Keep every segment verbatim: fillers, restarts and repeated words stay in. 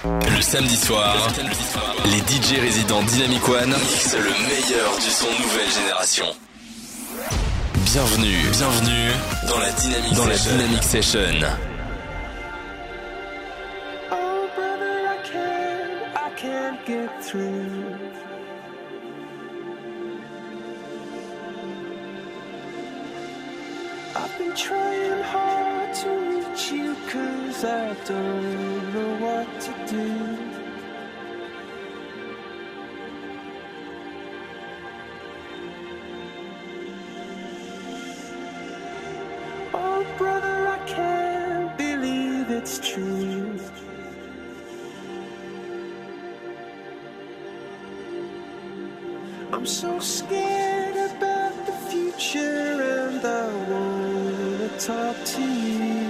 Le samedi soir, les D J résidents Dynamic One mixent le meilleur du son nouvelle génération. Bienvenue, bienvenue dans la Dynamic dans Session. La Dynamic Session. Oh brother, I can't, I can't get through. I've been trying hard to reach you, cause I don't know what to do. Oh brother, I can't believe it's true. I'm so scared about the future and I wanna talk to you.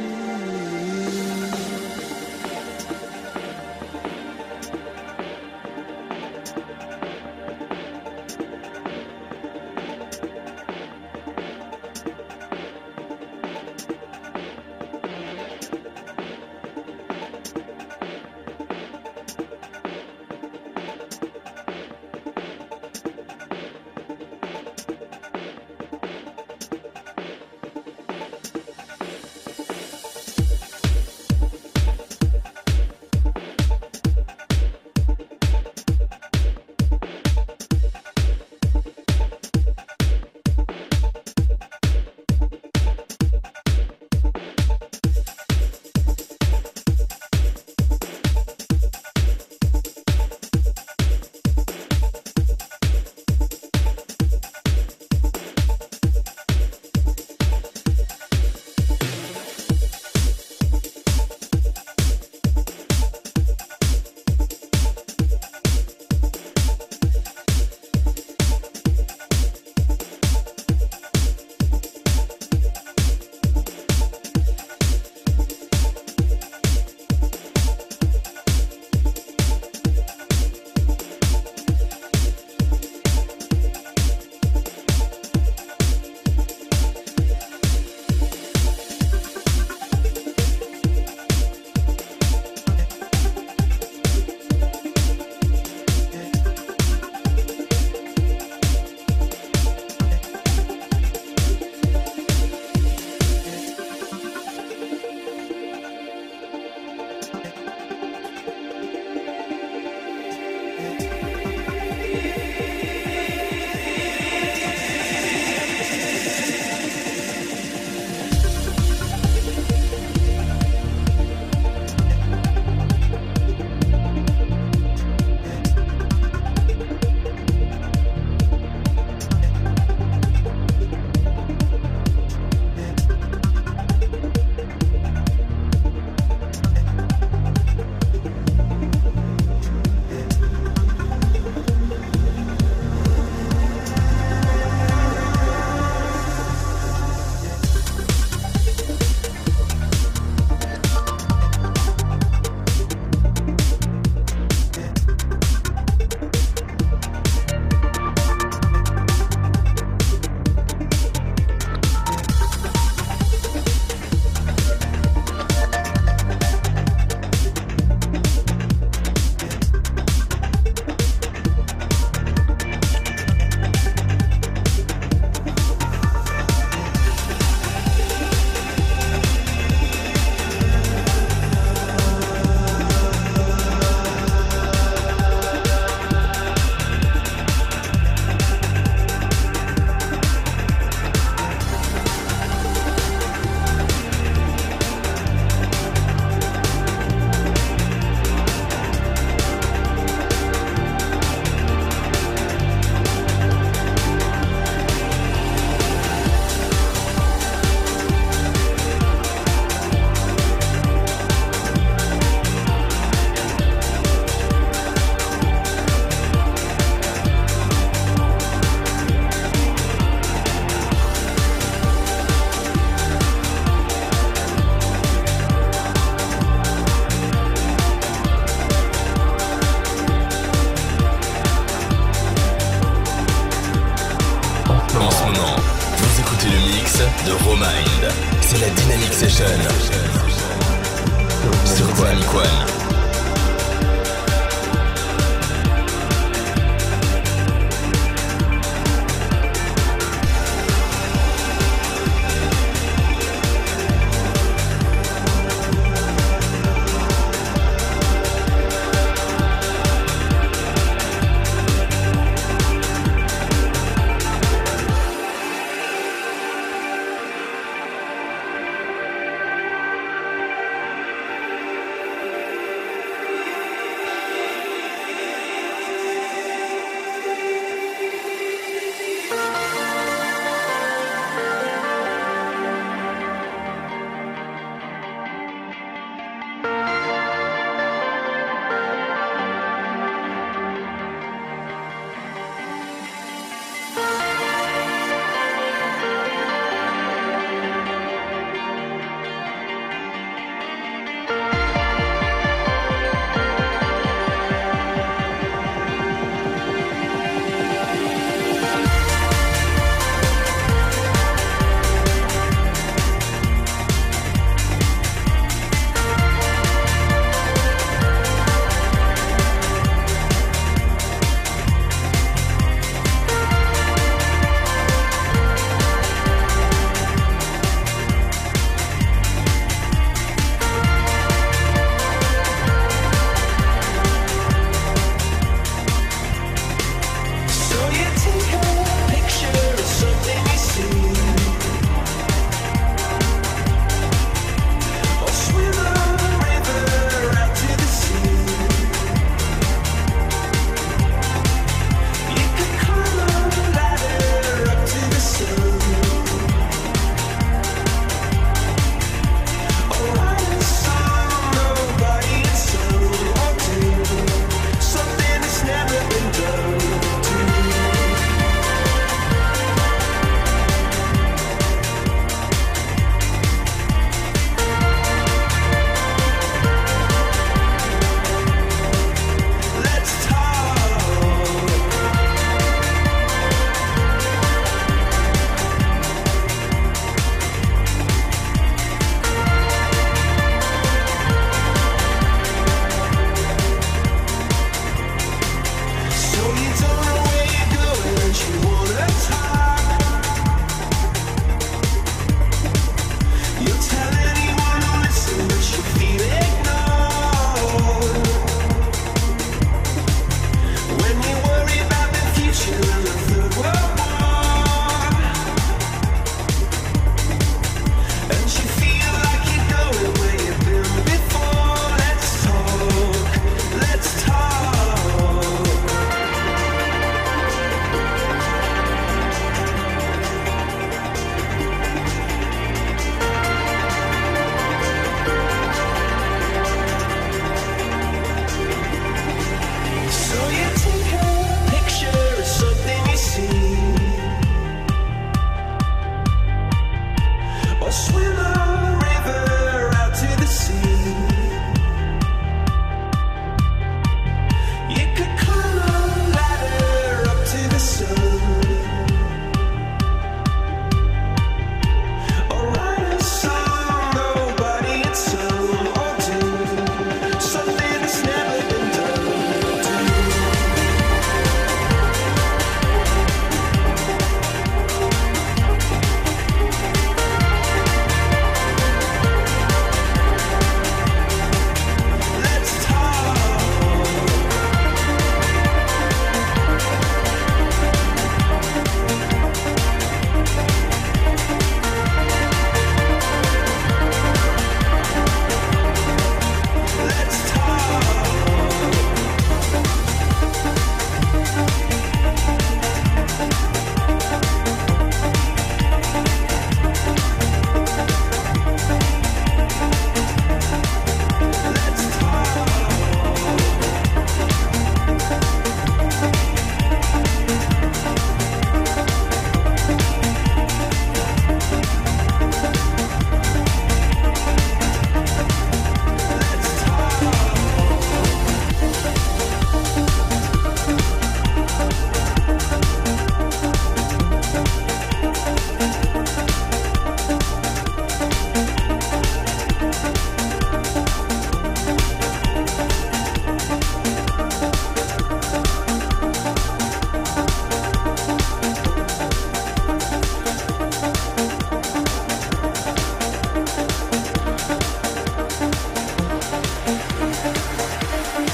de Romind. C'est la Dynamic Session sur Dynamic One.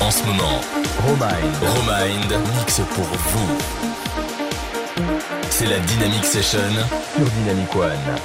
en ce moment. Romind. Romind mixe pour vous. C'est la Dynamic Session sur Dynamic One.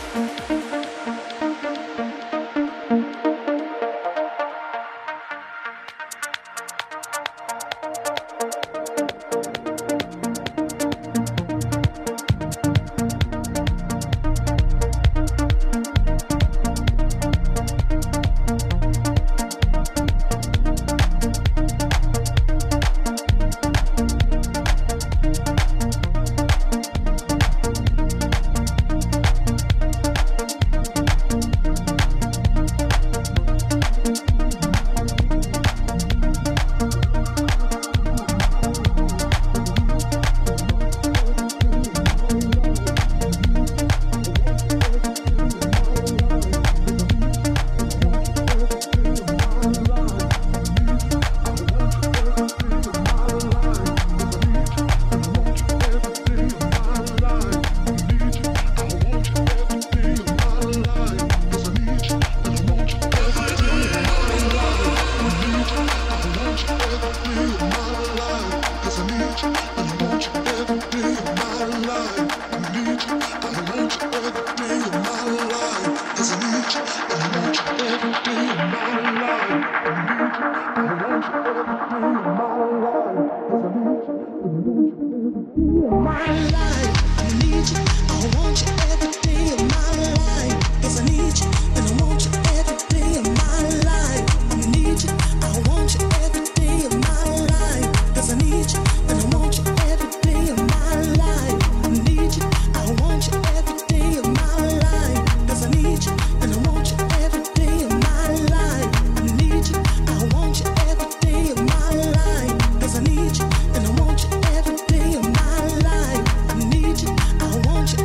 I want you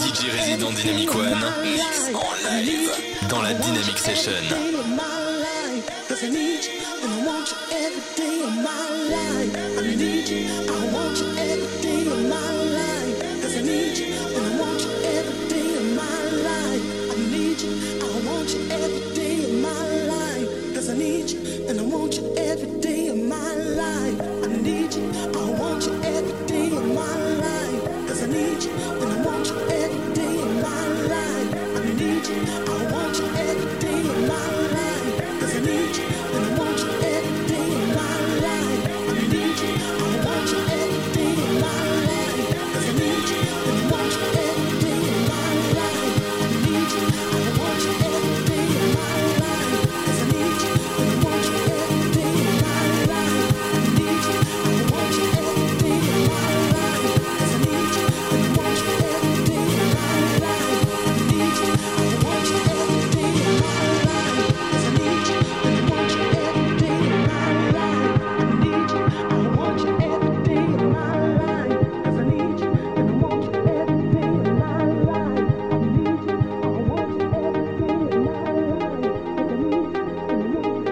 D J résident Dynamic One mix en live dans la Dynamic Session. Cause I need you and I want you every day of my life. I need you, I want you every day of my life. Cause I need you and I want you every day of my life. I need you, I want you every day of my life. Cause I need you and I want you every day of my life. I need you, I want you every day of my life. Cause I need you and I want you every day of my life. I need you, I want you every day of my life. Cause I need you and I want you every day of my life. I need you, I want you every day of my life. Cause I need you and I want you every day of my life. I need you, I want you every day of my life. Cause I need you and I want you every day of my life. I need you, I want you every day of my life. Cause I need you and I want you every day of my life. I need you, I want you every day of my life. Cause I need you and I want you every day of my life. I need you, I want you every day of my life. Cause I need you and I want you every day of my life. I need you, I want you every day of my life. Cause I need you and I want you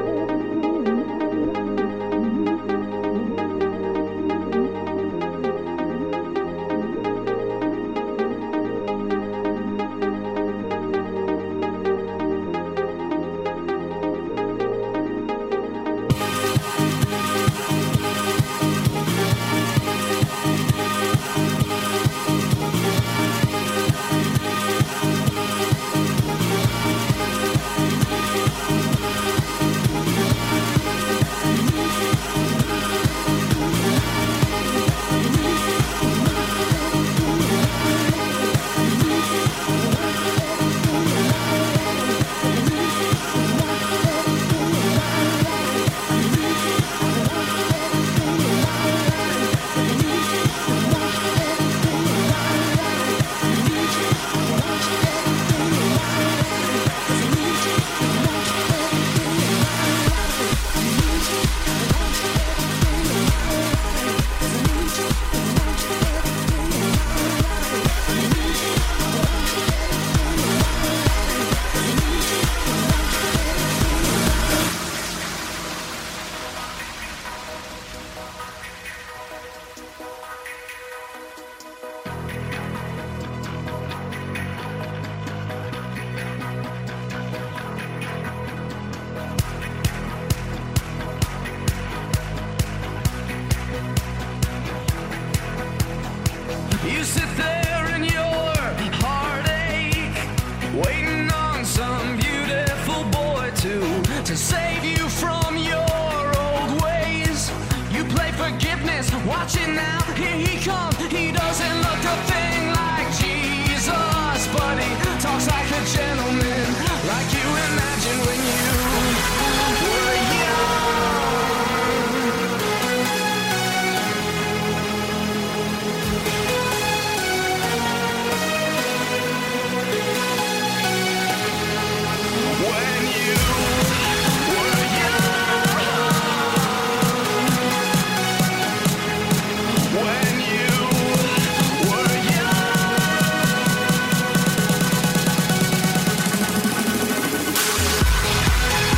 You sit there in your heartache, waiting on some beautiful boy to to save you from your old ways. You play forgiveness, watch it now, here he comes. He doesn't look a thing like Jesus, but he talks like a gentleman, like you imagined when you were young. When you were young, when you were young.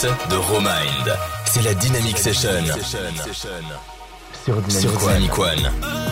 de Romind. C'est la Dynamic Session. Sur Dynamic One.